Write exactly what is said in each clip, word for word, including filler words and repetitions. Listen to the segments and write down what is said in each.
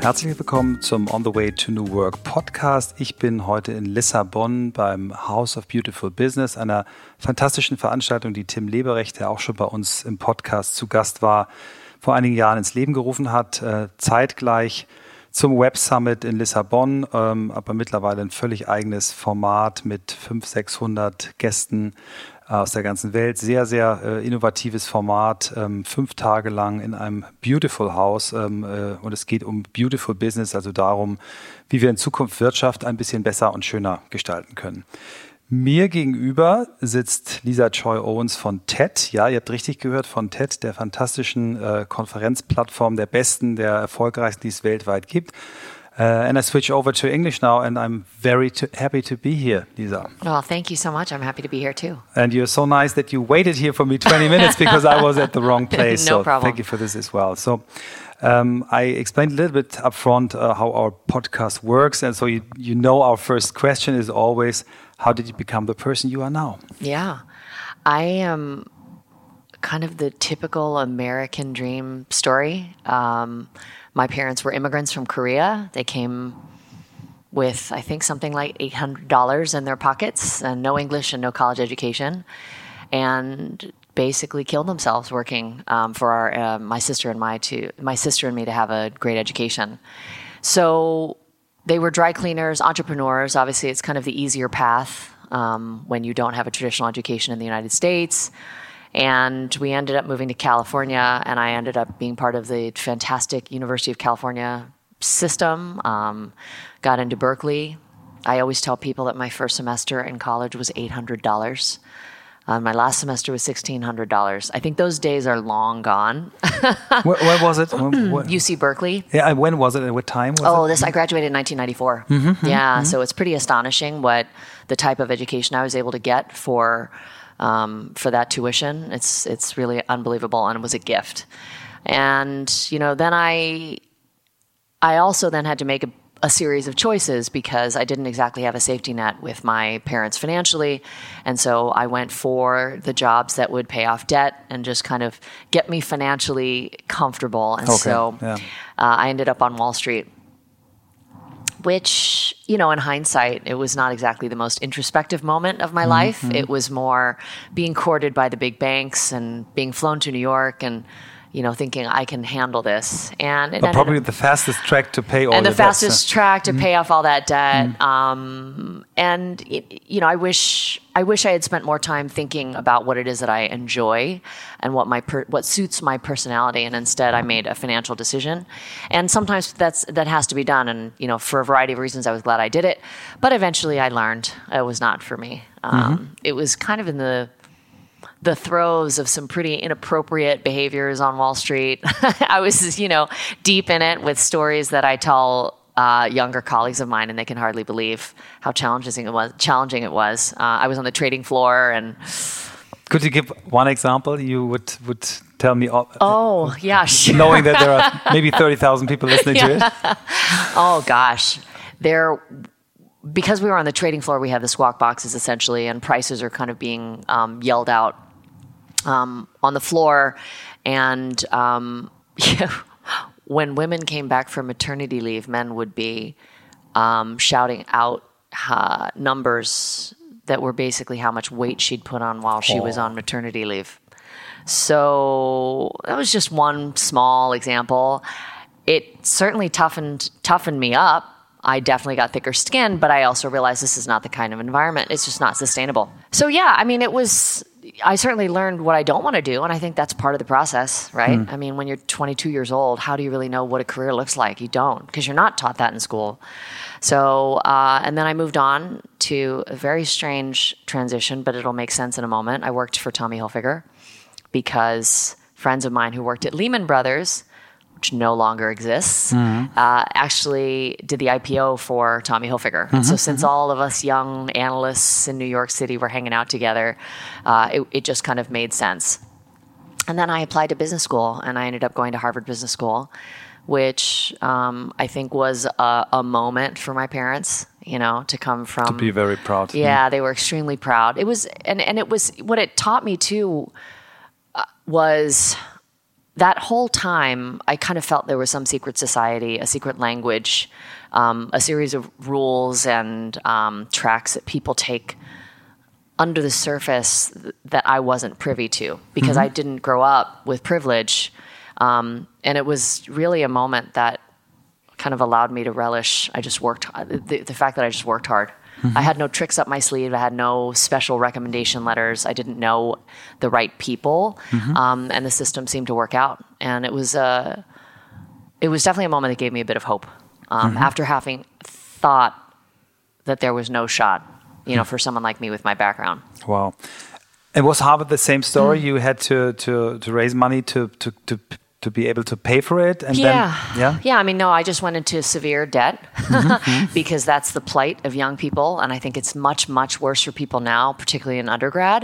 Herzlich willkommen zum On the Way to New Work Podcast. Ich bin heute in Lissabon beim House of Beautiful Business, einer fantastischen Veranstaltung, die Tim Leberecht, der auch schon bei uns im Podcast zu Gast war, vor einigen Jahren ins Leben gerufen hat, äh, zeitgleich zum Web Summit in Lissabon, ähm, aber mittlerweile ein völlig eigenes Format mit fünfhundert, sechshundert Gästen aus der ganzen Welt. Sehr, sehr äh, innovatives Format, ähm, fünf Tage lang in einem Beautiful House ähm, äh, und es geht um Beautiful Business, also darum, wie wir in Zukunft Wirtschaft ein bisschen besser und schöner gestalten können. Mir gegenüber sitzt Lisa Joy Owens von T E D. Ja, ihr habt richtig gehört, von T E D, der fantastischen äh, Konferenzplattform, der besten, der erfolgreichsten, die es weltweit gibt. Uh, and I switch over to English now, and I'm very to, happy to be here, Lisa. Well, thank you so much. I'm happy to be here too. And you're so nice that you waited here for me twenty minutes because I was at the wrong place. No so problem. Thank you for this as well. So um, I explained a little bit upfront uh, how our podcast works, and so you, you know our first question is always, how did you become the person you are now? Yeah, I am kind of the typical American dream story. Um, My parents were immigrants from Korea. They came with, I think, something like eight hundred dollars in their pockets and no English and no college education, and basically killed themselves working um, for our, uh, my sister and my to my sister and me to have a great education. So they were dry cleaners, entrepreneurs. Obviously, it's kind of the easier path um, when you don't have a traditional education in the United States. And we ended up moving to California, and I ended up being part of the fantastic University of California system, um, got into Berkeley. I always tell people that my first semester in college was eight hundred dollars. Uh, my last semester was sixteen hundred dollars. I think those days are long gone. where, where was it? When, U C Berkeley. Yeah, when was it and what time was oh, it? this I graduated in nineteen ninety-four. Mm-hmm, yeah, mm-hmm. So it's pretty astonishing what the type of education I was able to get for Um, for that tuition. It's it's really unbelievable, and it was a gift. And you know, then I I also then had to make a, a series of choices because I didn't exactly have a safety net with my parents financially, and so I went for the jobs that would pay off debt and just kind of get me financially comfortable. And okay. so yeah. uh, I ended up on Wall Street, which, you know, in hindsight, it was not exactly the most introspective moment of my mm-hmm. life. It was more being courted by the big banks and being flown to New York and, you know, thinking I can handle this. And it but probably up, the fastest track to pay all and the your fastest debts, track to mm-hmm. pay off all that debt. Mm-hmm. Um, and it, you know, I wish I wish I had spent more time thinking about what it is that I enjoy and what my per, what suits my personality. And instead, I made a financial decision. And sometimes that's that has to be done. And you know, for a variety of reasons, I was glad I did it. But eventually, I learned it was not for me. Um, mm-hmm. It was kind of in the the throes of some pretty inappropriate behaviors on Wall Street. I was, you know, deep in it with stories that I tell uh, younger colleagues of mine, and they can hardly believe how challenging it was. Challenging it was. Uh, I was on the trading floor, and could you give one example? You would would tell me. All, oh yeah, sure. Knowing that there are maybe thirty thousand people listening yeah. to it. Oh gosh, there. Because we were on the trading floor, we have the squawk boxes essentially, and prices are kind of being um, yelled out um, on the floor. And um, yeah, when women came back from maternity leave, men would be um, shouting out uh, numbers that were basically how much weight she'd put on while she oh. was on maternity leave. So that was just one small example. It certainly toughened toughened me up. I definitely got thicker skin, but I also realized this is not the kind of environment. It's just not sustainable. So yeah, I mean, it was, I certainly learned what I don't want to do. And I think that's part of the process, right? Hmm. I mean, when you're twenty-two years old, how do you really know what a career looks like? You don't, because you're not taught that in school. So, uh, and then I moved on to a very strange transition, but it'll make sense in a moment. I worked for Tommy Hilfiger because friends of mine who worked at Lehman Brothers, which no longer exists, mm-hmm. uh, actually did the I P O for Tommy Hilfiger. Mm-hmm. So since mm-hmm. all of us young analysts in New York City were hanging out together, uh, it, it just kind of made sense. And then I applied to business school, and I ended up going to Harvard Business School, which um, I think was a, a moment for my parents, you know, to come from... To be very proud. Yeah, mm. they were extremely proud. It was, and, and it was, what it taught me too uh, was... that whole time, I kind of felt there was some secret society, a secret language, um, a series of rules and um, tracks that people take under the surface th- that I wasn't privy to because mm-hmm. I didn't grow up with privilege. Um, and it was really a moment that kind of allowed me to relish. I just worked, the, the fact that I just worked hard. Mm-hmm. I had no tricks up my sleeve. I had no special recommendation letters. I didn't know the right people. Mm-hmm. Um, and the system seemed to work out. And it was, uh, it was definitely a moment that gave me a bit of hope. Um, mm-hmm. After having thought that there was no shot, you know, for someone like me with my background. Wow. And was Harvard the same story? Mm. You had to, to, to raise money to, to, to, to be able to pay for it? And yeah. Then, yeah. Yeah. I mean, no, I just went into severe debt mm-hmm. because that's the plight of young people. And I think it's much, much worse for people now, particularly in undergrad.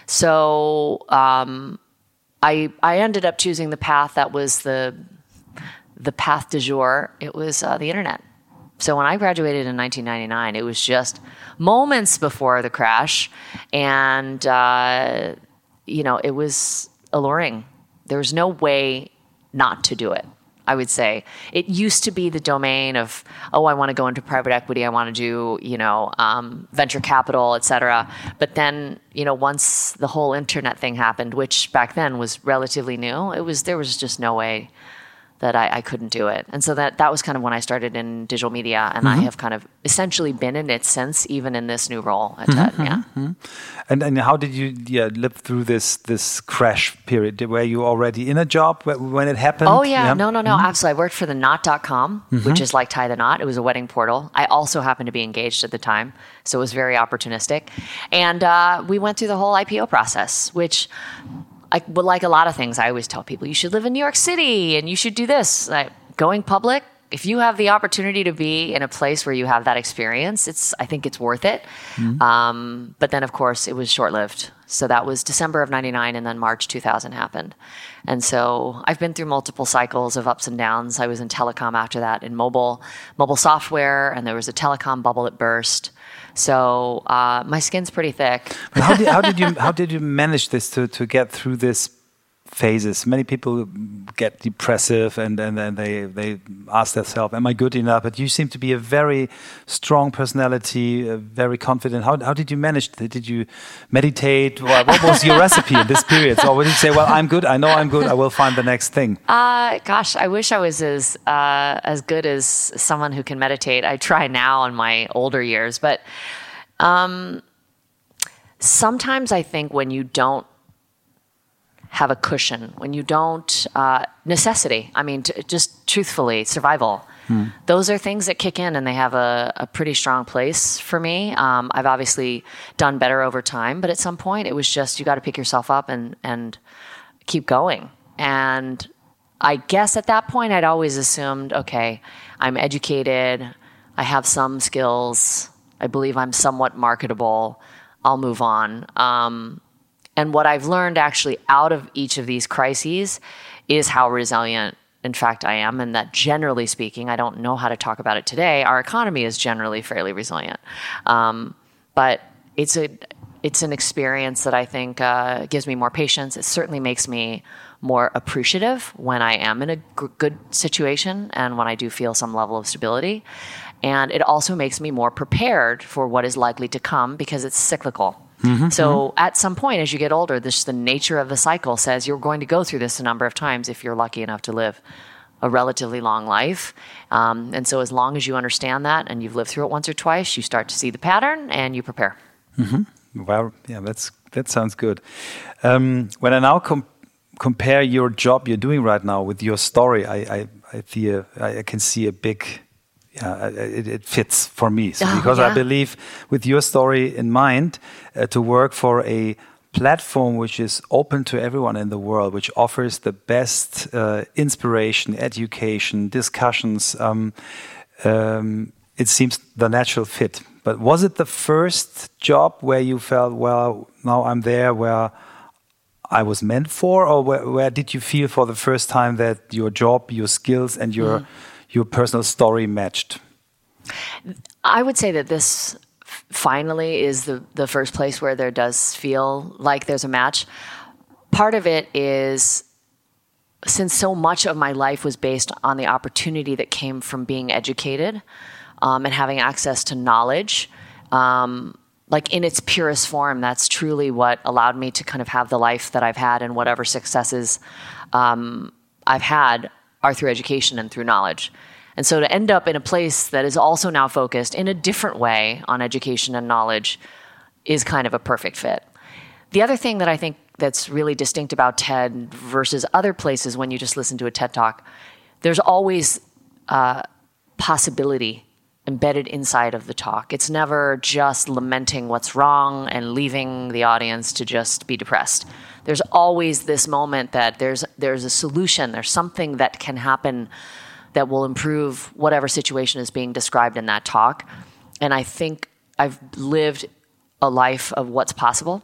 So um, I, I ended up choosing the path that was the, the path du jour. It was uh, the internet. So when I graduated in nineteen ninety-nine, it was just moments before the crash. And, uh, you know, it was alluring. There was no way not to do it, I would say. It used to be the domain of, oh, I want to go into private equity. I want to do, you know, um, venture capital, et cetera. But then, you know, once the whole internet thing happened, which back then was relatively new, it was there was just no way that I, I couldn't do it. And so that, that was kind of when I started in digital media, and mm-hmm. I have kind of essentially been in it since, even in this new role at TED, mm-hmm. yeah. Mm-hmm. And and how did you yeah, live through this this crash period? Were you already in a job when it happened? Oh, yeah. yeah. No, no, no, mm-hmm. absolutely. I worked for the knot dot com, mm-hmm. which is like Tie the Knot. It was a wedding portal. I also happened to be engaged at the time, so it was very opportunistic. And uh, we went through the whole I P O process, which... I, well, like a lot of things, I always tell people, you should live in New York City and you should do this. Like, going public, if you have the opportunity to be in a place where you have that experience, it's I think it's worth it. Mm-hmm. Um, but then, of course, it was short-lived. So that was December of ninety-nine, and then March two thousand happened. And so I've been through multiple cycles of ups and downs. I was in telecom after that, in mobile, mobile software, and there was a telecom bubble that burst. So uh, my skin's pretty thick. But how did, how did you how did you manage this to, to get through this phases? Many people get depressive and and then they they ask themselves, "Am I good enough?" But you seem to be a very strong personality, uh, very confident. How how did you manage? Did you meditate? What, what was your recipe in this period? Or would you say, "Well, I'm good. I know I'm good. I will find the next thing"? Uh, gosh, I wish I was as uh, as good as someone who can meditate. I try now in my older years, but um, sometimes I think when you don't have a cushion, when you don't, uh, necessity, I mean, t- just truthfully, survival. Hmm. Those are things that kick in, and they have a, a pretty strong place for me. Um, I've obviously done better over time, but at some point it was just, you got to pick yourself up and, and keep going. And I guess at that point I'd always assumed, okay, I'm educated, I have some skills, I believe I'm somewhat marketable, I'll move on. Um, And what I've learned actually out of each of these crises is how resilient, in fact, I am. And that generally speaking, I don't know how to talk about it today, our economy is generally fairly resilient. Um, but it's a it's an experience that I think uh, gives me more patience. It certainly makes me more appreciative when I am in a g- good situation and when I do feel some level of stability. And it also makes me more prepared for what is likely to come because it's cyclical. Mm-hmm, so mm-hmm. at some point, as you get older, this the nature of the cycle says you're going to go through this a number of times if you're lucky enough to live a relatively long life. Um, and so as long as you understand that and you've lived through it once or twice, you start to see the pattern and you prepare. Mm-hmm. Well, yeah, that's that sounds good. Um, when I now com- compare your job you're doing right now with your story, I I, I feel I can see a big. Yeah, it, it fits for me. So oh, because yeah. I believe, with your story in mind, uh, to work for a platform which is open to everyone in the world, which offers the best uh, inspiration, education, discussions, um, um, it seems the natural fit. But was it the first job where you felt, well, now I'm there where I was meant for, or where, where did you feel for the first time that your job, your skills, and your mm. your personal story matched? I would say that this finally is the, the first place where there does feel like there's a match. Part of it is since so much of my life was based on the opportunity that came from being educated um, and having access to knowledge, um, like in its purest form, that's truly what allowed me to kind of have the life that I've had, and whatever successes um, I've had are through education and through knowledge. And so to end up in a place that is also now focused in a different way on education and knowledge is kind of a perfect fit. The other thing that I think that's really distinct about TED versus other places when you just listen to a TED Talk, there's always uh, possibility embedded inside of the talk. It's never just lamenting what's wrong and leaving the audience to just be depressed. There's always this moment that there's there's a solution, there's something that can happen that will improve whatever situation is being described in that talk. And I think I've lived a life of what's possible.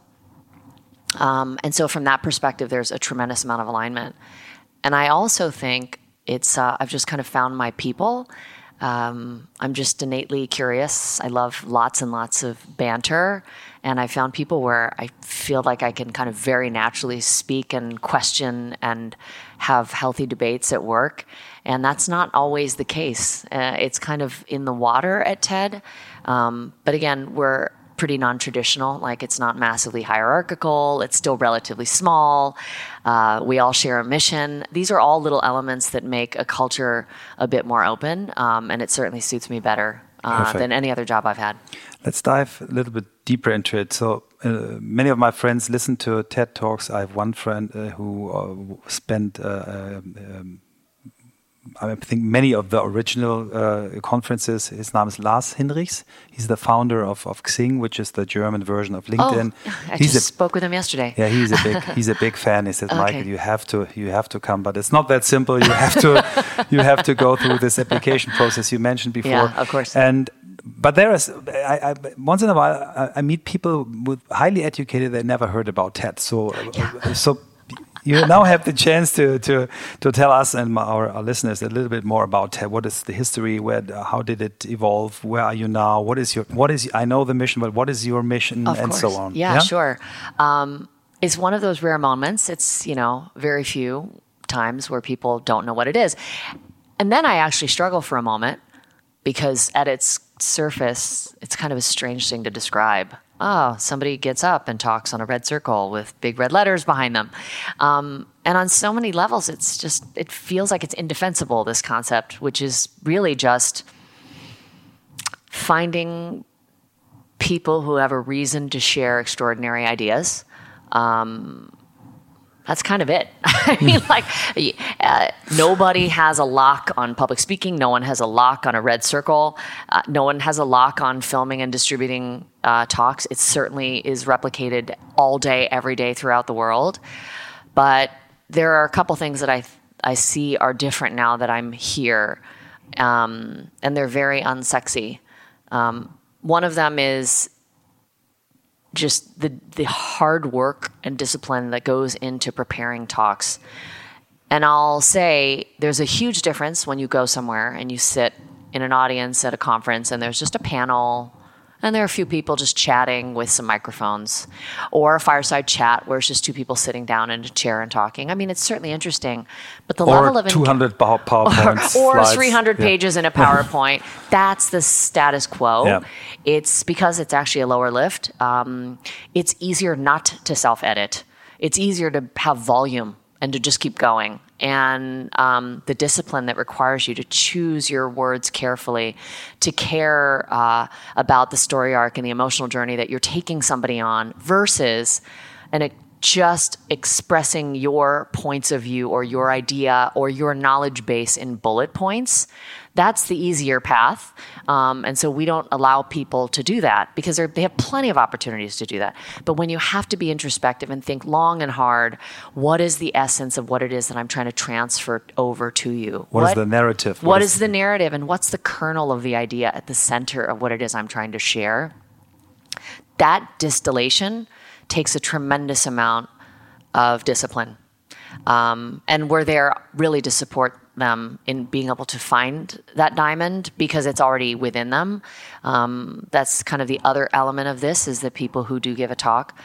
Um, and so from that perspective, there's a tremendous amount of alignment. And I also think it's, uh, I've just kind of found my people. Um, I'm just innately curious. I love lots and lots of banter. And I found people where I feel like I can kind of very naturally speak and question and have healthy debates at work. And that's not always the case. Uh, it's kind of in the water at TED. Um, but again, we're pretty non-traditional. Like, it's not massively hierarchical. It's still relatively small. Uh, we all share a mission. These are all little elements that make a culture a bit more open. Um, and it certainly suits me better uh, than any other job I've had. Let's dive a little bit deeper into it. So uh, many of my friends listen to TED Talks. I have one friend uh, who uh, spent uh, um, I think many of the original uh, conferences. His name is Lars Hinrichs. He's the founder of, of Xing, which is the German version of LinkedIn. Oh, I he's just a, spoke with him yesterday. Yeah, he's a big he's a big fan. He said, Okay. Michael, you have to you have to come, but it's not that simple. You have to you have to go through this application process you mentioned before. Yeah, of course. And but there is I, I, once in a while I, I meet people with highly educated that never heard about TED. So Yeah. so. You now have the chance to to to tell us and our, our listeners a little bit more about TED. What is the history? Where, how did it evolve? Where are you now? What is your what is? I know the mission, but what is your mission, Of and course. so on? Yeah, yeah? sure. Um, it's one of those rare moments. It's, you know, very few times where people don't know what it is, and then I actually struggle for a moment because at its surface, it's kind of a strange thing to describe. Oh, somebody gets up and talks on a red circle with big red letters behind them. Um, and on so many levels, it's just, it feels like it's indefensible, this concept, which is really just finding people who have a reason to share extraordinary ideas. Um, That's kind of it. I mean, like, uh, nobody has a lock on public speaking. No one has a lock on a red circle. Uh, no one has a lock on filming and distributing uh, talks. It certainly is replicated all day, every day throughout the world. But there are a couple things that I I see are different now that I'm here, um, and they're very unsexy. Um, one of them is just the the hard work and discipline that goes into preparing talks. And I'll say there's a huge difference when you go somewhere and you sit in an audience at a conference and there's just a panel and there are a few people just chatting with some microphones, or a fireside chat where it's just two people sitting down in a chair and talking. I mean, it's certainly interesting, but the or level of two hundred enga- PowerPoints, or, or slides. three hundred Yeah. pages in a PowerPoint. That's the status quo. Yeah. It's because it's actually a lower lift. Um, it's easier not to self-edit. It's easier to have volume and to just keep going. And um, the discipline that requires you to choose your words carefully, to care uh, about the story arc and the emotional journey that you're taking somebody on, versus an just expressing your points of view or your idea or your knowledge base in bullet points. That's the easier path. Um, and so we don't allow people to do that because they have plenty of opportunities to do that. But when you have to be introspective and think long and hard, what is the essence of what it is that I'm trying to transfer over to you? What, what is the narrative? What, what is, is the narrative, and what's the kernel of the idea at the center of what it is I'm trying to share? That distillation takes a tremendous amount of discipline. Um, and we're there really to support them in being able to find that diamond because it's already within them. Um, that's kind of the other element of this, is that people who do give a talk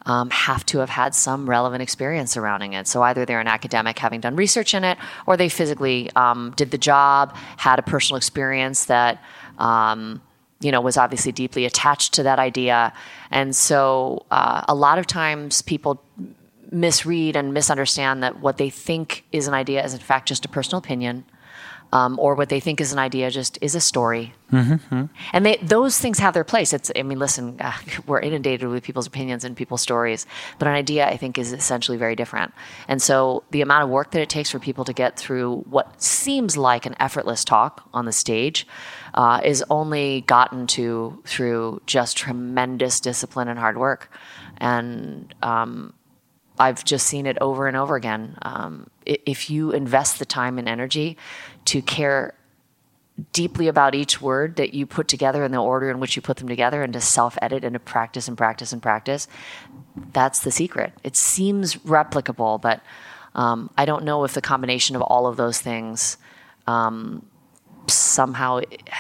um, have to have had some relevant experience surrounding it. So either they're an academic having done research in it, or they physically um, did the job, had a personal experience that um, you know, was obviously deeply attached to that idea. And so uh, a lot of times people misread and misunderstand that what they think is an idea is in fact just a personal opinion, um, or what they think is an idea just is a story. Mm-hmm. And they, those things have their place. It's, I mean, listen, uh, we're inundated with people's opinions and people's stories, but an idea I think is essentially very different. And so the amount of work that it takes for people to get through what seems like an effortless talk on the stage uh, is only gotten to through just tremendous discipline and hard work. And um, I've just seen it over and over again. Um, if you invest the time and energy to care deeply about each word that you put together and the order in which you put them together, and to self-edit and to practice and practice and practice, that's the secret. It seems replicable, but um, I don't know if the combination of all of those things um, somehow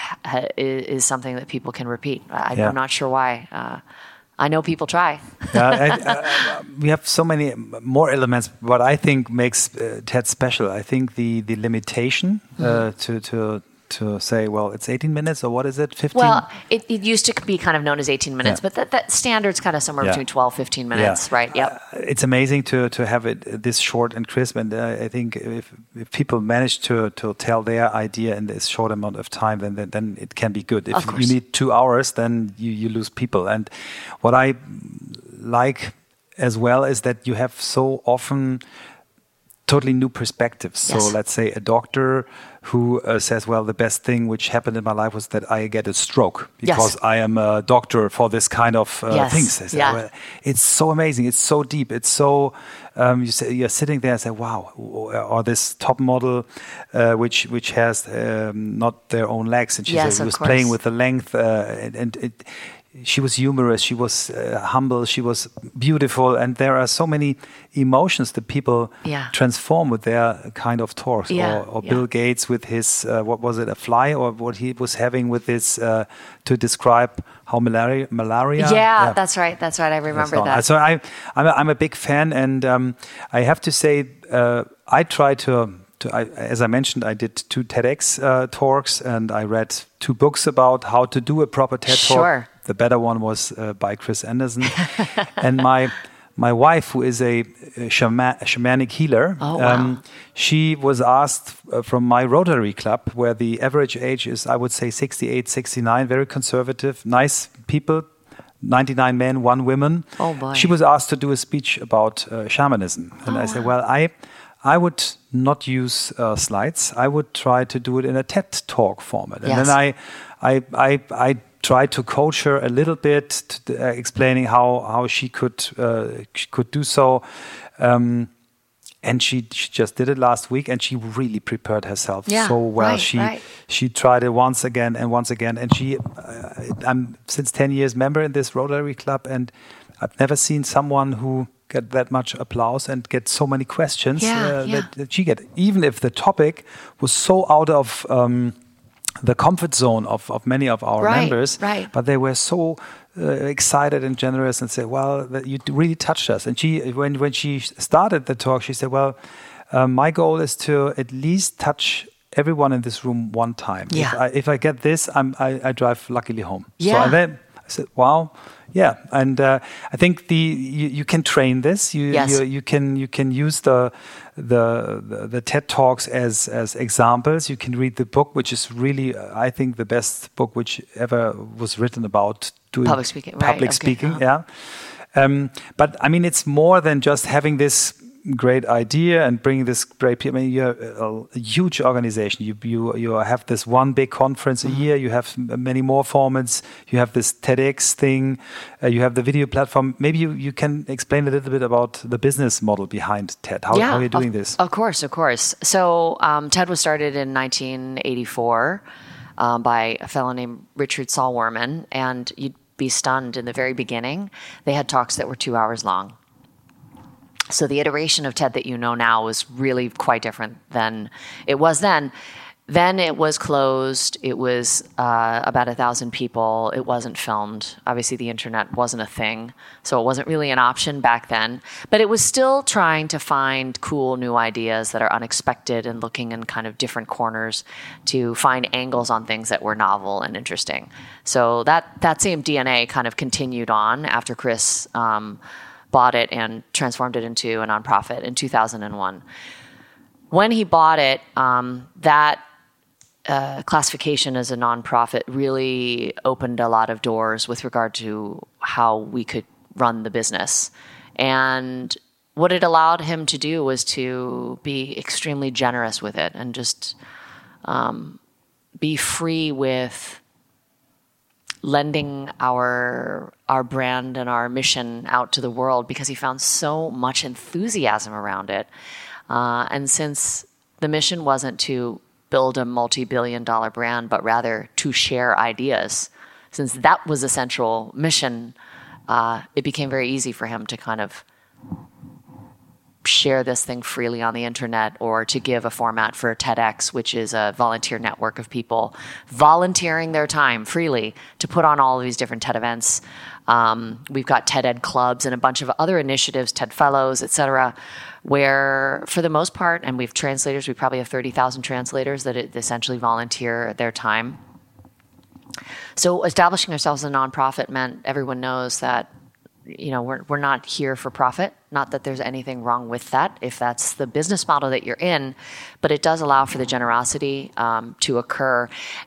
is something that people can repeat. I, yeah. I'm not sure why. Uh, I know people try. yeah, I, I, we have so many more elements. What I think makes uh, TED special, I think the the limitation uh, mm-hmm. to to to say, well, it's eighteen minutes, or what is it, fifteen? Well, it, it used to be kind of known as eighteen minutes, yeah. but that, that standard's kind of somewhere yeah. between twelve, fifteen minutes, yeah. right? Yep. Uh, it's amazing to to have it this short and crisp, and uh, I think if, if people manage to to tell their idea in this short amount of time, then then, then it can be good. If you need two hours, then you, you lose people. And what I like as well is that you have so often totally new perspectives. Yes. So let's say a doctor who uh, says, well, the best thing which happened in my life was that I get a stroke because yes. I am a doctor for this kind of uh, yes. things. I say, yeah. well, it's so amazing. It's so deep. It's so, um, you say, you're sitting there and say, wow, or this top model, uh, which which has um, not their own legs. And she yes, said, was course. playing with the length uh, and, and it, she was humorous, she was uh, humble, she was beautiful, and there are so many emotions that people yeah. transform with their kind of talks. Yeah. Or, or yeah. Bill Gates with his, uh, what was it, a fly, or what he was having with this uh, to describe how malaria. malaria yeah, yeah, that's right, that's right, I remember so, that. So I, I'm, a, I'm a big fan, and um, I have to say, uh, I try to. I, as I mentioned, I did two TEDx uh, talks, and I read two books about how to do a proper TED sure. talk. The better one was uh, by Chris Anderson. And my my wife, who is a, a, shama- a shamanic healer, oh, wow. um, she was asked uh, from my Rotary Club, where the average age is, I would say, sixty-eight, sixty-nine, very conservative, nice people, ninety-nine men, one woman. Oh boy. She was asked to do a speech about uh, shamanism. And oh, I said, wow. well, I... I would not use uh, slides. I would try to do it in a TED Talk format. And yes. then I, I, I, I tried to coach her a little bit, to, uh, explaining how, how she could uh, she could do so. Um, and she, she just did it last week, and she really prepared herself yeah, so well. Right, she right. she tried it once again and once again. And she, uh, I'm since ten years member in this Rotary Club, and I've never seen someone who get that much applause and get so many questions yeah, uh, yeah. that, that she get, even if the topic was so out of um, the comfort zone of, of many of our right, members, right. but they were so uh, excited and generous and said, well, that you really touched us. And she, when, when she started the talk, she said, well, um, my goal is to at least touch everyone in this room one time. Yeah. If I, if I get this, I'm, I, I drive luckily home. Yeah. So and then I said, wow. Yeah, and uh, I think the you, you can train this. You, yes. you you can you can use the, the the the TED Talks as as examples. You can read the book, which is really uh, I think the best book which ever was written about doing public speaking. Public right. speaking, okay. yeah. Um, but I mean, it's more than just having this great idea and bringing this great people. I mean, you're a, a huge organization. You you you have this one big conference mm-hmm. a year. You have many more formats. You have this TEDx thing. Uh, you have the video platform. Maybe you, you can explain a little bit about the business model behind TED. How, yeah, how are you doing of, this? Of course, of course. So um, TED was started in nineteen eighty-four um, by a fellow named Richard Saul Wurman, and you'd be stunned in the very beginning. They had talks that were two hours long. So the iteration of TED that you know now is really quite different than it was then. Then it was closed. It was uh, about a thousand people. It wasn't filmed. Obviously, the internet wasn't a thing, so it wasn't really an option back then. But it was still trying to find cool new ideas that are unexpected and looking in kind of different corners to find angles on things that were novel and interesting. So that that same D N A kind of continued on after Chris um, bought it and transformed it into a nonprofit in two thousand one. When he bought it, um, that Uh, classification as a nonprofit really opened a lot of doors with regard to how we could run the business. And what it allowed him to do was to be extremely generous with it and just um, be free with lending our our brand and our mission out to the world, because he found so much enthusiasm around it. Uh, and since the mission wasn't to build a multi-billion dollar brand, but rather to share ideas, since that was a central mission, uh, it became very easy for him to kind of share this thing freely on the internet, or to give a format for TEDx, which is a volunteer network of people volunteering their time freely to put on all of these different TED events. Um, we've got TED Ed clubs and a bunch of other initiatives, TED Fellows, et cetera, where for the most part, and we have translators, we probably have thirty thousand translators that essentially volunteer their time. So establishing ourselves as a nonprofit meant everyone knows that, you know, we're we're not here for profit. Not that there's anything wrong with that, if that's the business model that you're in, but it does allow for the generosity um, to occur,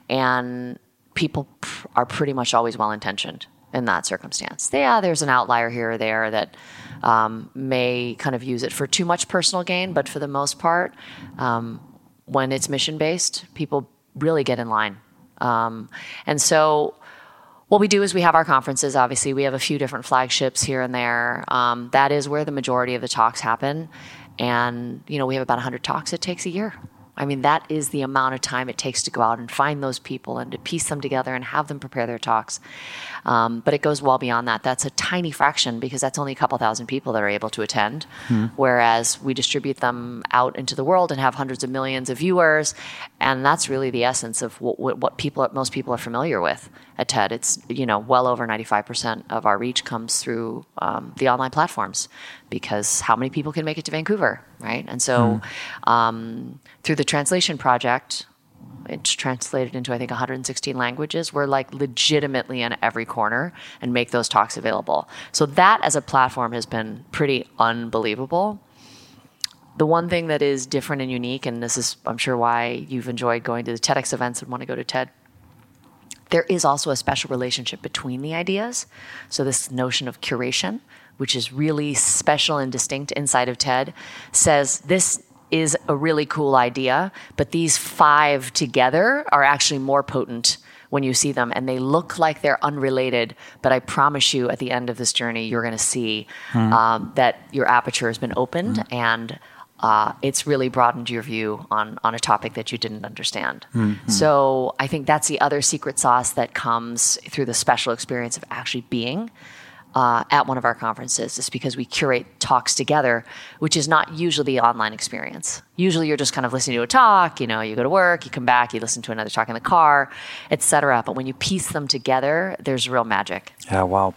and people pr- are pretty much always well-intentioned in that circumstance. Yeah, there's an outlier here or there that um, may kind of use it for too much personal gain, but for the most part, um, when it's mission-based, people really get in line. Um, and so what we do is we have our conferences. Obviously, we have a few different flagships here and there. Um, that is where the majority of the talks happen. And, you know, we have about one hundred talks. It takes a year. I mean, that is the amount of time it takes to go out and find those people and to piece them together and have them prepare their talks. Um, but it goes well beyond that. That's a tiny fraction, because that's only a couple thousand people that are able to attend. Hmm. Whereas we distribute them out into the world and have hundreds of millions of viewers. And that's really the essence of what, what people, most people are familiar with at TED. It's, you know, well over ninety-five percent of our reach comes through um, the online platforms, because how many people can make it to Vancouver, right? And so hmm. um, through the translation project, it's translated into, I think, one hundred sixteen languages. We're like legitimately in every corner and make those talks available. So that as a platform has been pretty unbelievable. The one thing that is different and unique, and this is, I'm sure, why you've enjoyed going to the TEDx events and want to go to TED, there is also a special relationship between the ideas. So this notion of curation, which is really special and distinct inside of TED, says this is a really cool idea, but these five together are actually more potent when you see them, and they look like they're unrelated, but I promise you at the end of this journey, you're going to see mm. um, that your aperture has been opened mm. and uh, it's really broadened your view on, on a topic that you didn't understand. Mm-hmm. So I think that's the other secret sauce that comes through the special experience of actually being Uh, at one of our conferences, is because we curate talks together, which is not usually the online experience. Usually you're just kind of listening to a talk, you know, you go to work, you come back, you listen to another talk in the car, et cetera. But when you piece them together, there's real magic. Ja, wow.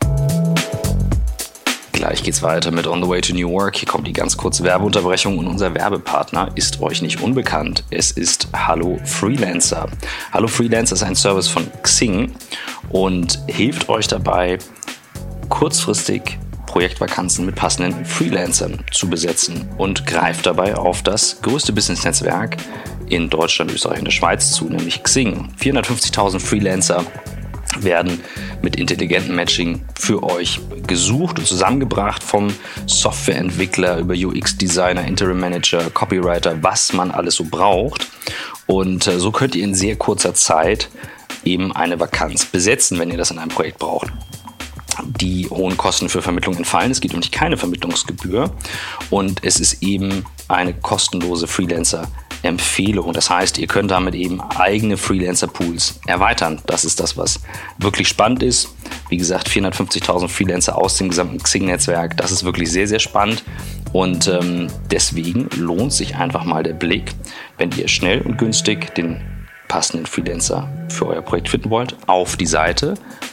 Gleich geht's weiter mit On the Way to New Work. Hier kommt die ganz kurze Werbeunterbrechung und unser Werbepartner ist euch nicht unbekannt. Es ist Hallo Freelancer. Hallo Freelancer ist ein Service von Xing und hilft euch dabei, kurzfristig Projektvakanzen mit passenden Freelancern zu besetzen und greift dabei auf das größte Business-Netzwerk in Deutschland, Österreich und der Schweiz zu, nämlich Xing. vierhundertfünfzigtausend Freelancer werden mit intelligentem Matching für euch gesucht und zusammengebracht, vom Softwareentwickler über U X-Designer, Interim-Manager, Copywriter, was man alles so braucht. Und so könnt ihr in sehr kurzer Zeit eben eine Vakanz besetzen, wenn ihr das in einem Projekt braucht. Die hohen Kosten für Vermittlung entfallen. Es gibt nämlich keine Vermittlungsgebühr und es ist eben eine kostenlose Freelancer-Empfehlung. Das heißt, ihr könnt damit eben eigene Freelancer-Pools erweitern. Das ist das, was wirklich spannend ist. Wie gesagt, vierhundertfünfzigtausend Freelancer aus dem gesamten Xing-Netzwerk. Das ist wirklich sehr, sehr spannend. Und ähm, deswegen lohnt sich einfach mal der Blick, wenn ihr schnell und günstig den passenden Freelancer für euer Projekt finden wollt, auf die Seite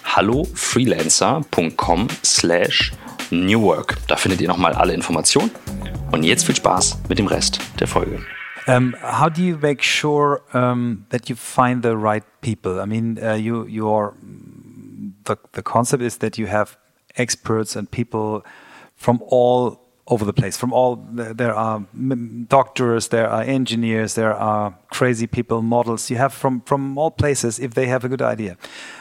hallofreelancer.com slash newwork. Da findet ihr nochmal alle Informationen. Und jetzt viel Spaß mit dem Rest der Folge. Um, how do you make sure um, that you find the right people? I mean, uh, you, your the the concept is that you have experts and people from all over the place. From all, there are doctors, there are engineers, there are crazy people, models. You have from from all places if they have a good idea.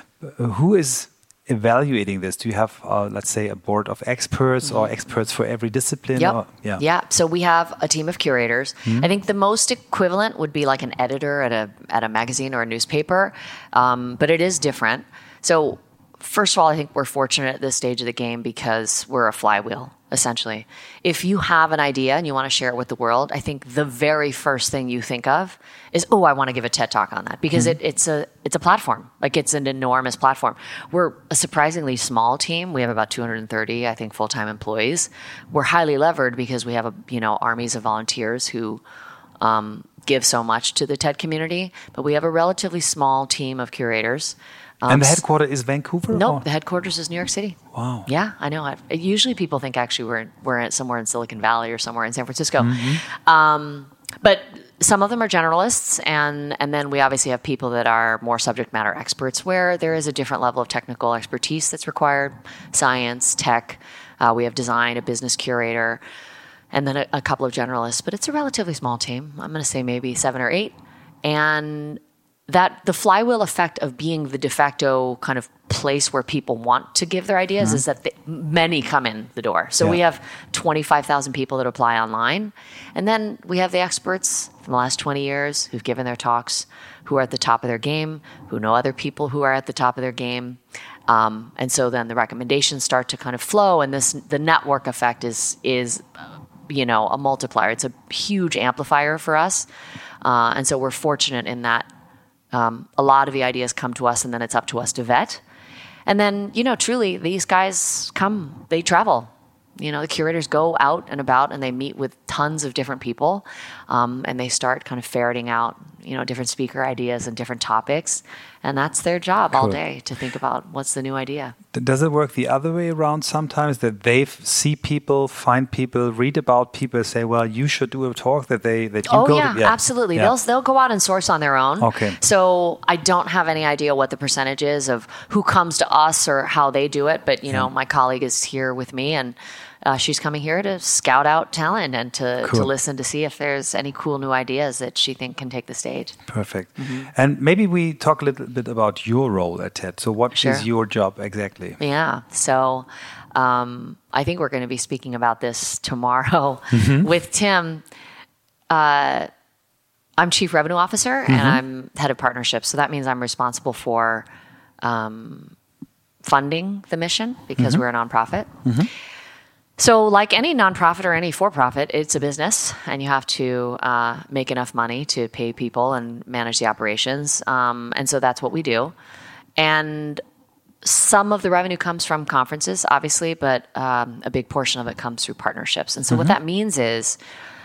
Who is evaluating this? Do you have, uh, let's say, a board of experts mm-hmm. or experts for every discipline? Yep. Or, yeah. Yeah. So we have a team of curators. Mm-hmm. I think the most equivalent would be like an editor at a at a magazine or a newspaper, um, but it is different. So first of all, I think we're fortunate at this stage of the game because we're a flywheel, essentially. If you have an idea and you want to share it with the world, I think the very first thing you think of is, oh, I want to give a TED Talk on that because mm-hmm. it, it's a it's a platform. Like it's an enormous platform. We're a surprisingly small team. We have about two hundred thirty, I think, full-time employees. We're highly levered because we have a you know armies of volunteers who um, give so much to the TED community. But we have a relatively small team of curators. Um, and the headquarters is Vancouver? No, nope, the headquarters is New York City. Wow. Yeah, I know. I, usually people think actually we're we're at somewhere in Silicon Valley or somewhere in San Francisco. Mm-hmm. Um, but some of them are generalists, and and then we obviously have people that are more subject matter experts where there is a different level of technical expertise that's required, science, tech. Uh, we have design, a business curator, and then a, a couple of generalists. But it's a relatively small team. I'm going to say maybe seven or eight. And that the flywheel effect of being the de facto kind of place where people want to give their ideas mm-hmm. is that the, many come in the door. So yeah. we have twenty-five thousand people that apply online. And then we have the experts from the last twenty years who've given their talks, who are at the top of their game, who know other people who are at the top of their game. Um, and so then the recommendations start to kind of flow. And this the network effect is, is you know, a multiplier. It's a huge amplifier for us. Uh, and so we're fortunate in that Um, a lot of the ideas come to us, and then it's up to us to vet. And then, you know, truly, these guys come, they travel. You know, the curators go out and about, and they meet with tons of different people, um, and they start kind of ferreting out, you know, different speaker ideas and different topics. And that's their job cool. all day, to think about what's the new idea. Does it work the other way around sometimes, that they see people, find people, read about people, say, well, you should do a talk, that they that you oh, go yeah, to? Yeah, absolutely. Yeah. They'll they'll go out and source on their own. Okay. So I don't have any idea what the percentage is of who comes to us or how they do it. But, you know, yeah. my colleague is here with me, and Uh, she's coming here to scout out talent and to, cool. to listen to see if there's any cool new ideas that she think can take the stage. Perfect. Mm-hmm. And maybe we talk a little bit about your role at TED. So what sure. is your job exactly? Yeah. So um, I think we're going to be speaking about this tomorrow mm-hmm. with Tim. Uh, I'm Chief Revenue Officer mm-hmm. and I'm Head of Partnerships. So that means I'm responsible for um, funding the mission because mm-hmm. we're a nonprofit. Mm-hmm. So like any nonprofit or any for-profit, it's a business, and you have to uh, make enough money to pay people and manage the operations. Um, and so that's what we do. And some of the revenue comes from conferences, obviously, but um, a big portion of it comes through partnerships. And so mm-hmm. what that means is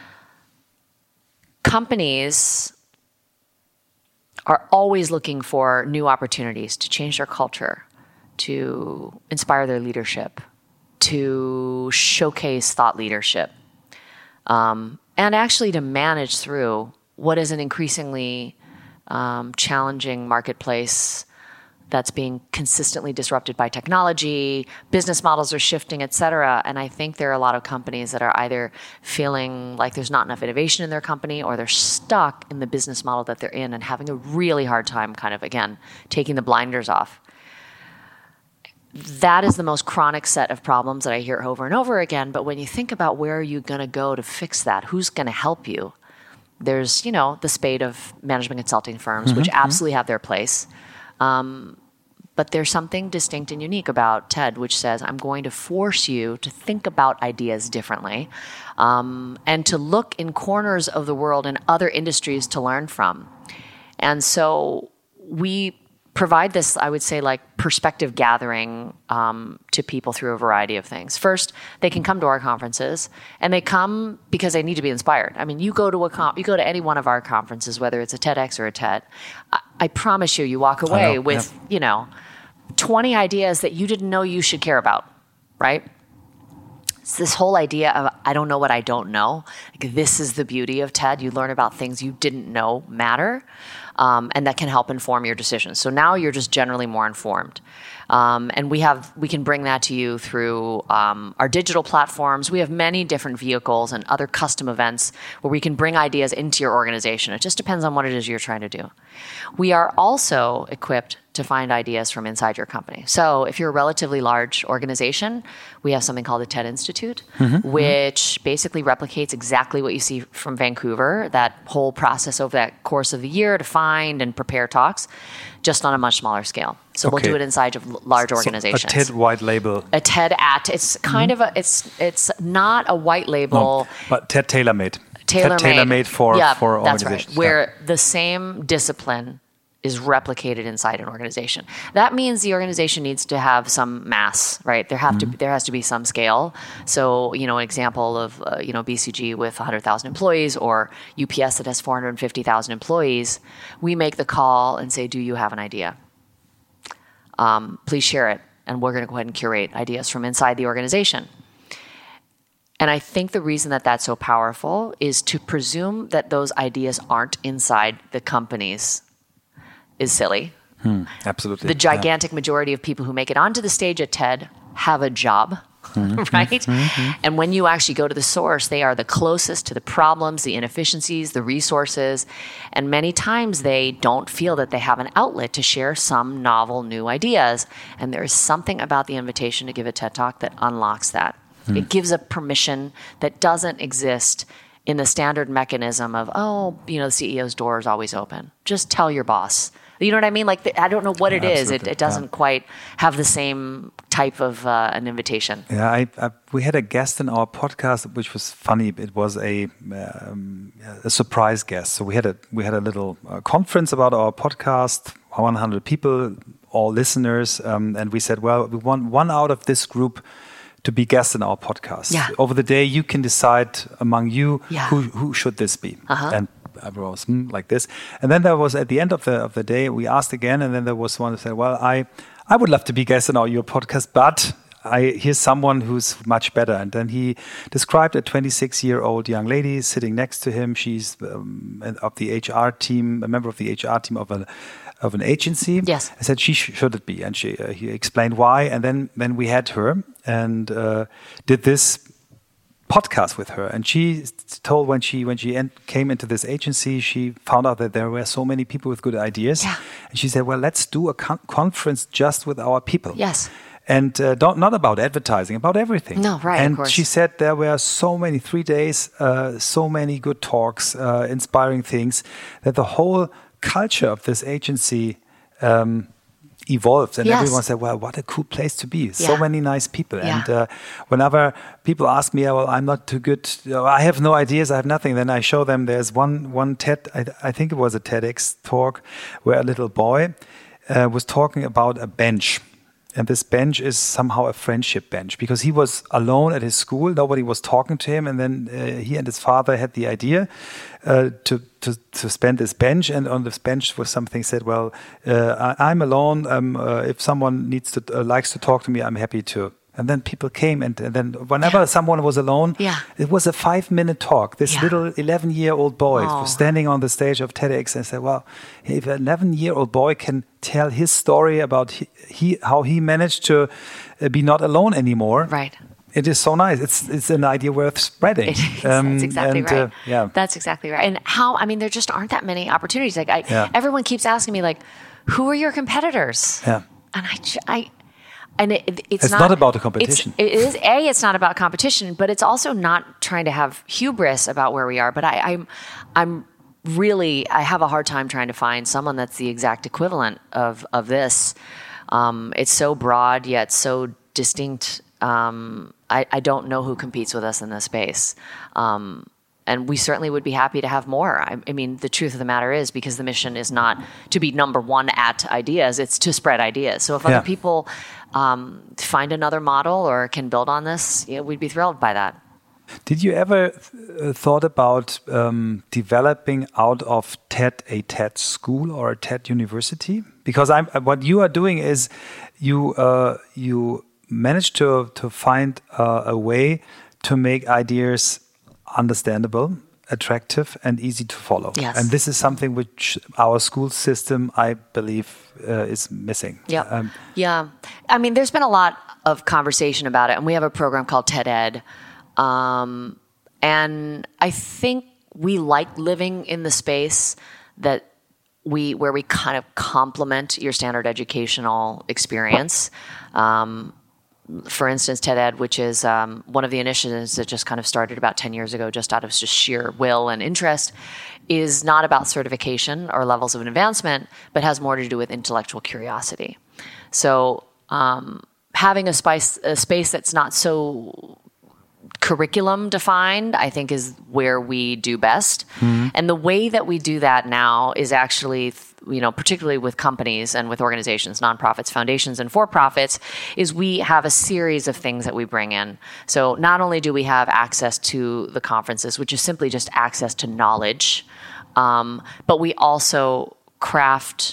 companies are always looking for new opportunities to change their culture, to inspire their leadership, to showcase thought leadership, um, and actually to manage through what is an increasingly um, challenging marketplace that's being consistently disrupted by technology. Business models are shifting, et cetera. And I think there are a lot of companies that are either feeling like there's not enough innovation in their company, or they're stuck in the business model that they're in and having a really hard time kind of, again, taking the blinders off. That is the most chronic set of problems that I hear over and over again. But when you think about where are you going to go to fix that, who's going to help you? There's, you know, the spate of management consulting firms, mm-hmm, which absolutely mm-hmm. have their place. Um, but there's something distinct and unique about TED, which says, I'm going to force you to think about ideas differently, um, and to look in corners of the world and other industries to learn from. And so we provide this, I would say, like perspective gathering um, to people through a variety of things. First, they can come to our conferences, and they come because they need to be inspired. I mean, you go to a com- you go to any one of our conferences, whether it's a TEDx or a TED. I, I promise you, you walk away know, with yeah. you know twenty ideas that you didn't know you should care about, right? It's this whole idea of I don't know what I don't know. Like, this is the beauty of TED. You learn about things you didn't know matter. Um, and that can help inform your decisions. So now you're just generally more informed. Um, and we have we can bring that to you through um, our digital platforms. We have many different vehicles and other custom events where we can bring ideas into your organization. It just depends on what it is you're trying to do. We are also equipped to find ideas from inside your company. So if you're a relatively large organization, we have something called the TED Institute, mm-hmm. which basically replicates exactly what you see from Vancouver, that whole process over that course of the year to find and prepare talks, just on a much smaller scale. So okay. we'll do it inside of large organizations. So a TED white label. A TED at, it's kind mm-hmm. of a, it's it's not a white label. No, but TED tailor-made. Tailor-made. TED tailor-made for, yeah, for that's organizations. Right. Where yeah. the same discipline is replicated inside an organization. That means the organization needs to have some mass, right? There have mm-hmm. to there has to be some scale. So, you know, an example of uh, you know B C G with one hundred thousand employees, or U P S that has four hundred fifty thousand employees. We make the call and say, "Do you have an idea? Um, please share it." And we're going to go ahead and curate ideas from inside the organization. And I think the reason that that's so powerful is to presume that those ideas aren't inside the companies is silly. Hmm, absolutely. The gigantic yeah. majority of people who make it onto the stage at TED have a job, mm-hmm, right? Mm-hmm. And when you actually go to the source, they are the closest to the problems, the inefficiencies, the resources. And many times they don't feel that they have an outlet to share some novel new ideas. And there is something about the invitation to give a TED Talk that unlocks that. Mm. It gives a permission that doesn't exist in the standard mechanism of, oh, you know, the C E O's door is always open. Just tell your boss. You know what I mean? Like, the, I don't know what yeah, it is. It, it doesn't yeah. quite have the same type of uh, an invitation. Yeah, I, I, we had a guest in our podcast, which was funny. It was a um, a surprise guest. So we had a we had a little uh, conference about our podcast. one hundred people, all listeners, um, and we said, well, we want one out of this group to be guest in our podcast. Yeah. Over the day, you can decide among you yeah. who who should this be. Uh-huh. And everyone was mm, like this. And then there was, at the end of the of the day, we asked again, and then there was one who said, well, I, I would love to be guest in our, your podcast, but I here's someone who's much better. And then he described a twenty-six-year-old young lady sitting next to him. She's um, of the H R team, a member of the H R team of a of an agency. Yes. I said she sh- should it be, and she uh, he explained why. And then then we had her and uh, did this podcast with her, and she told when she when she en- came into this agency, she found out that there were so many people with good ideas, yeah. and she said, "Well, let's do a con- conference just with our people." Yes. And uh, don't, not about advertising, about everything. No, right, and of course. she said there were so many, three days, uh, so many good talks, uh, inspiring things, that the whole culture of this agency um, evolved. And yes. everyone said, well, what a cool place to be. Yeah. So many nice people. Yeah. And uh, whenever people ask me, well, I'm not too good, I have no ideas, I have nothing, then I show them there's one, one TED, I, I think it was a TEDx talk, where a little boy uh, was talking about a bench. And this bench is somehow a friendship bench, because he was alone at his school. Nobody was talking to him. And then uh, he and his father had the idea uh, to, to to spend this bench. And on this bench was something said, well, uh, I, I'm alone. Um, uh, if someone needs to uh, likes to talk to me, I'm happy to. And then people came, and, and then whenever yeah. someone was alone, yeah. it was a five-minute talk. This yeah. little eleven-year-old boy oh. was standing on the stage of TEDx and said, well, if an eleven-year-old boy can tell his story about he, he how he managed to uh, be not alone anymore, right. it is so nice. It's it's an idea worth spreading. It is. Um, That's exactly and, right. Uh, yeah. That's exactly right. And how, I mean, there just aren't that many opportunities. Like I, yeah. Everyone keeps asking me, like, who are your competitors? Yeah. And I, I And it, it, it's, it's not, not about the competition. It's, it is a. It's not about competition, but it's also not trying to have hubris about where we are. But I, I'm, I'm really. I have a hard time trying to find someone that's the exact equivalent of of this. Um, it's so broad yet so distinct. Um, I, I don't know who competes with us in this space. Um, and we certainly would be happy to have more. I, I mean, the truth of the matter is, because the mission is not to be number one at ideas, it's to spread ideas. So if Yeah. other people um, find another model or can build on this, you know, we'd be thrilled by that. Did you ever uh, thought about um, developing out of TED a TED school or a TED university? Because I'm, what you are doing is you uh, you manage to to find uh, a way to make ideas understandable, attractive, and easy to follow. Yes. And this is something which our school system, I believe, uh, is missing. Yeah, Um, yeah. I mean, there's been a lot of conversation about it, and we have a program called TED Ed. Um, and I think we like living in the space that we, where we kind of complement your standard educational experience. Um, for instance, TED Ed, which is um, one of the initiatives that just kind of started about ten years ago, just out of just sheer will and interest, is not about certification or levels of advancement, but has more to do with intellectual curiosity. So um, having a space, a space that's not so curriculum defined, I think, is where we do best. Mm-hmm. And the way that we do that now is actually, you know, particularly with companies and with organizations, nonprofits, foundations, and for-profits, is we have a series of things that we bring in. So not only do we have access to the conferences, which is simply just access to knowledge, um, but we also craft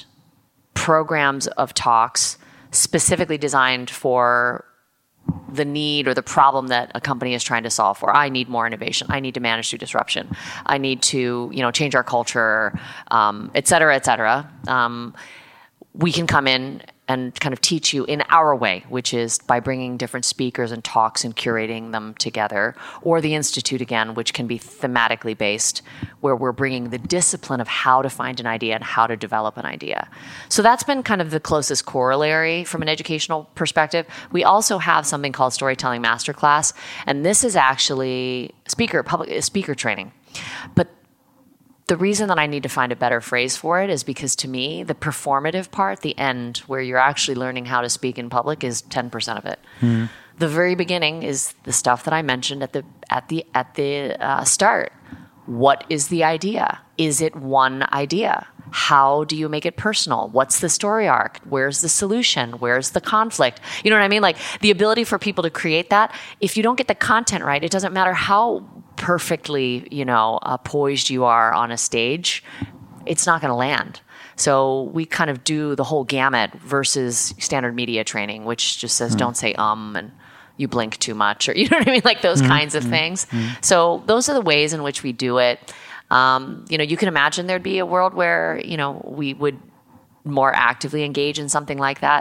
programs of talks specifically designed for the need or the problem that a company is trying to solve for. I need more innovation. I need to manage through disruption. I need to, you know, change our culture, um, et cetera, et cetera. Um, we can come in and kind of teach you in our way, which is by bringing different speakers and talks and curating them together, or the Institute again, which can be thematically based, where we're bringing the discipline of how to find an idea and how to develop an idea. So that's been kind of the closest corollary from an educational perspective. We also have something called Storytelling Masterclass, and this is actually speaker public speaker training. But the reason that I need to find a better phrase for it is because, to me, the performative part, the end, where you're actually learning how to speak in public, is ten percent of it. Mm-hmm. The very beginning is the stuff that I mentioned at the at the at the uh, start. What is the idea? Is it one idea? How do you make it personal? What's the story arc? Where's the solution? Where's the conflict? You know what I mean? Like, the ability for people to create that. If you don't get the content right, it doesn't matter how perfectly, you know, uh, poised you are on a stage, it's not going to land. So we kind of do the whole gamut versus standard media training, which just says, mm. don't say um and you blink too much, or, you know what I mean? Like those mm. kinds of mm. things. Mm. So those are the ways in which we do it. Um, you know, you can imagine there'd be a world where, you know, we would more actively engage in something like that.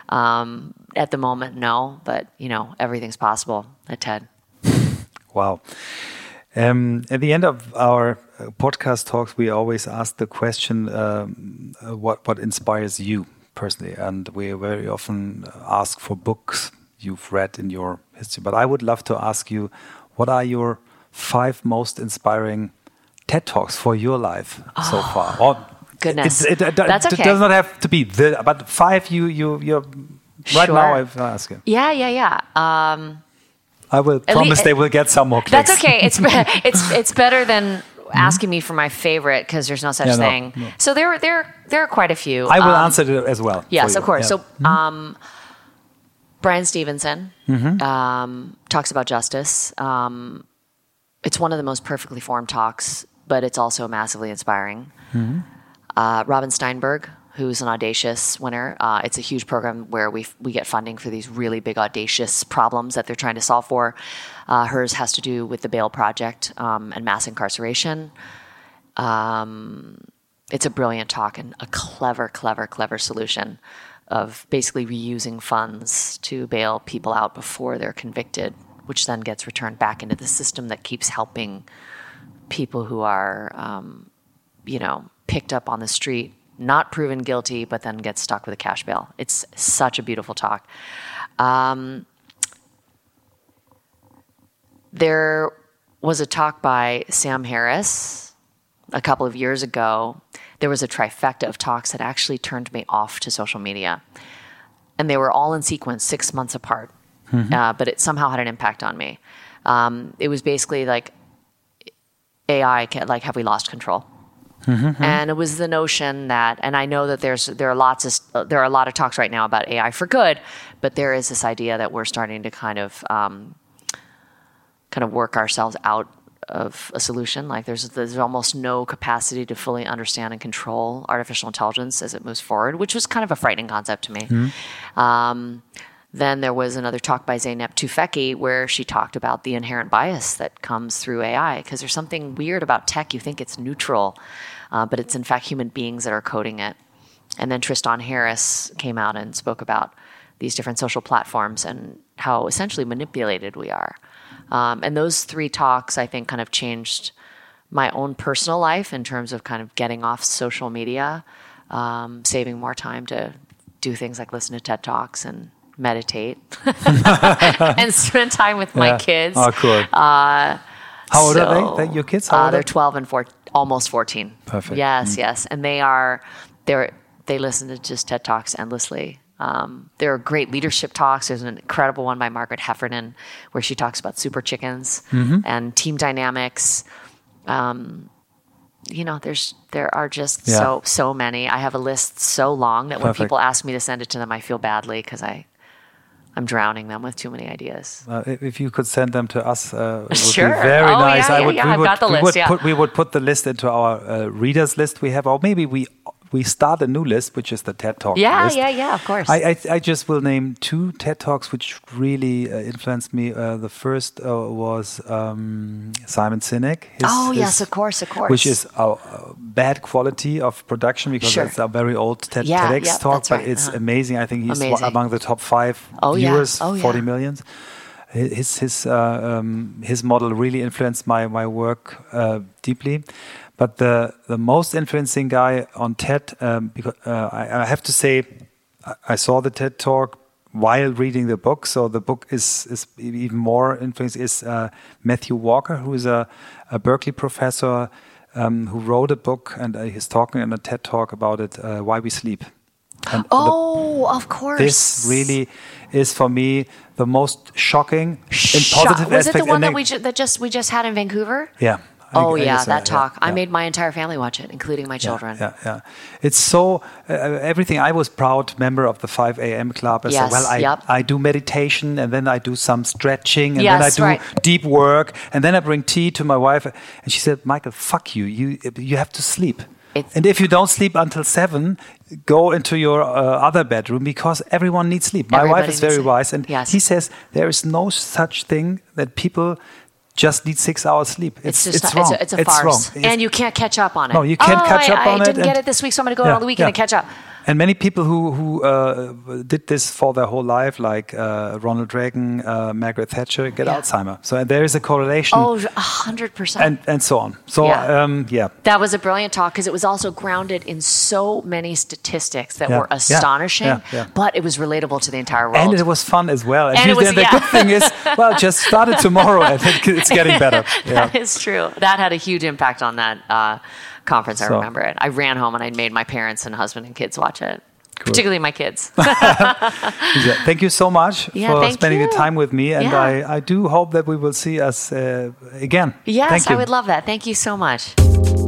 Um, at the moment, no, but, you know, everything's possible at TED. Wow. Um, at the end of our podcast talks, we always ask the question, um, what, what inspires you personally? And we very often ask for books you've read in your history. But I would love to ask you, what are your five most inspiring TED Talks for your life oh, so far? Or goodness, it, it, it, that's okay. It does not have to be the, but five you you you right sure. now. I've asked you. Yeah, yeah, yeah. Um, I will promise they will get some more clicks. That's okay. It's it's it's better than asking me for my favorite, because there's no such yeah, thing. No, no. So there there there are quite a few. I will um, answer it as well. Yes, of course. Yeah. So um, Brian Stevenson mm-hmm. um, talks about justice. Um, it's one of the most perfectly formed talks, but it's also massively inspiring. Mm-hmm. Uh, Robin Steinberg, who's an Audacious winner. Uh, it's a huge program where we we get funding for these really big, audacious problems that they're trying to solve for. Uh, hers has to do with the Bail Project um, and mass incarceration. Um, it's a brilliant talk and a clever, clever, clever solution of basically reusing funds to bail people out before they're convicted, which then gets returned back into the system that keeps helping people who are, um, you know, picked up on the street, not proven guilty, but then get stuck with a cash bail. It's such a beautiful talk. Um, there was a talk by Sam Harris a couple of years ago. There was a trifecta of talks that actually turned me off to social media. And they were all in sequence, six months apart. Mm-hmm. Uh, but it somehow had an impact on me. Um, it was basically like, A I, can, like, have we lost control? Mm-hmm. And it was the notion that, and I know that there's there are lots of there are a lot of talks right now about A I for good, but there is this idea that we're starting to kind of um, kind of work ourselves out of a solution. Like there's there's almost no capacity to fully understand and control artificial intelligence as it moves forward, which was kind of a frightening concept to me. Mm-hmm. Um, then there was another talk by Zeynep Tufekci where she talked about the inherent bias that comes through A I, because there's something weird about tech. You think it's neutral, uh, but it's in fact human beings that are coding it. And then Tristan Harris came out and spoke about these different social platforms and how essentially manipulated we are. Um, and those three talks, I think, kind of changed my own personal life in terms of kind of getting off social media, um, saving more time to do things like listen to TED Talks and meditate and spend time with my yeah. kids. Oh, cool. Uh, How old so, are they? Your kids? How uh, old they're are twelve and four, almost fourteen. Perfect. Yes, mm. yes. And they are, they're, they listen to just TED Talks endlessly. Um, there are great leadership talks. There's an incredible one by Margaret Heffernan where she talks about super chickens mm-hmm. and team dynamics. Um, you know, there's there are just yeah. so so many. I have a list so long that Perfect. when people ask me to send it to them, I feel badly because I I'm drowning them with too many ideas. Uh, if you could send them to us, uh, it would sure. be very oh, nice. Yeah, I yeah, would, yeah. we I've would, got the we list. would yeah. put we would put the list into our uh, readers list we have, or maybe we we start a new list, which is the TED Talk yeah, list. Yeah, yeah, yeah. Of course. I I, I just will name two TED Talks which really uh, influenced me. Uh, the first uh, was um, Simon Sinek. His, oh his, yes, of course, of course. Which is a, a bad quality of production because sure. it's a very old TED, yeah, TEDx yeah, talk, but right. it's uh-huh. amazing. I think he's amazing. among the top five oh, viewers, yeah. oh, forty yeah. millions. His his uh, um, his model really influenced my my work uh, deeply. But the the most influencing guy on TED, um, because uh, I, I have to say, I, I saw the TED Talk while reading the book, so the book is is even more influencing. Is uh, Matthew Walker, who is a, a Berkeley professor um, who wrote a book, and uh, he's talking in a TED Talk about it, uh, Why We Sleep. And oh, the, of course. This really is for me the most shocking in Shock. positive Was aspect. it the one that we ju- that just we just had in Vancouver? Yeah. Oh I, I yeah, guess, that uh, talk. Yeah, I yeah. made my entire family watch it, including my children. Yeah, yeah. yeah. It's so uh, everything. I was proud member of the five a.m. club. I yes, said, well, I, yep. I do meditation and then I do some stretching and yes, then I do right. deep work and then I bring tea to my wife and she said, Michael, fuck you. You you have to sleep. It's and if you don't sleep until seven, go into your uh, other bedroom because everyone needs sleep. My wife is very wise, and yes. he says there is no such thing that people just need six hours sleep. It's, it's just it's not, wrong. It's a, it's a it's farce, wrong. and you can't catch up on it. No, you can't oh, catch I, up I on it. I didn't get it this week, so I'm going to go yeah, on the weekend yeah. and catch up. And many people who who uh, did this for their whole life, like uh, Ronald Reagan, uh, Margaret Thatcher, get yeah. Alzheimer. So there is a correlation. Oh, a hundred percent. And and so on. So yeah, um, yeah. that was a brilliant talk because it was also grounded in so many statistics that yeah. were astonishing, yeah. Yeah. Yeah. but it was relatable to the entire world. And it was fun as well. And, and it was, the yeah. good thing is, well, just start it tomorrow. I think it's getting better. Yeah. That is true. That had a huge impact on that uh, conference. I so. remember it. I ran home and I made my parents and husband and kids watch it. Cool. Particularly my kids. Thank you so much yeah, for spending you. the time with me. And yeah. I, I do hope that we will see us uh, again. Yes, thank you. I would love that. Thank you so much.